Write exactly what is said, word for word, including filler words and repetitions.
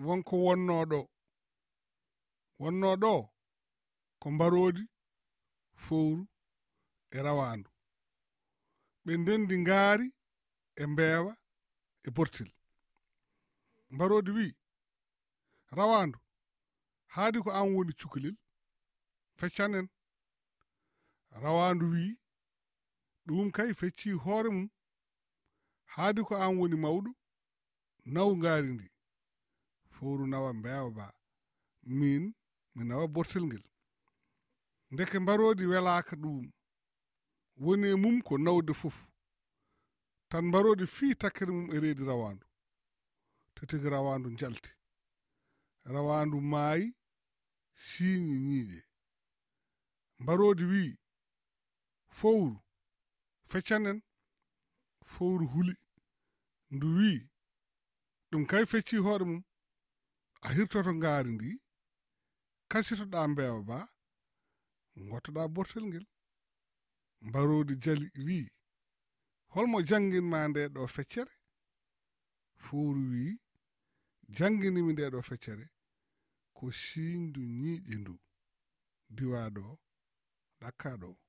wonko wonno ɗo wonno ɗo ko mbarodi fowru e rawandu ɓe ndendi ngaari e mbeewa e bortel mbarodi wi rawandu haadi ko an woni cukalel feccanen rawandu wi ɗum kay fecci hoore mum haadi ko an woni mawɗo naw ngaari ndi fowru nawa mbeewa ba min mi nawa bortel ngel ndeke mbarodi welaka ɗum woni e mum ko nawde fof tan mbarodi fi takkere mum e reedi rawandu tetigi rawandu jalti rawandu maayi siiñi ñiiƴe mbarodi wi fowru feccanen fowru huli ndu wi ɗum kay fecci hoore mum a hirtoto ngaari ndi kasitoɗa mbeewa ba gottoɗa bortel ngel mbarodi jali wi holmo jangginma nde ɗo feccere fowru wi jangginimi nde ɗo feccere ko siiñdu ñiiƴe ndu diwa ɗo ɗakka ɗo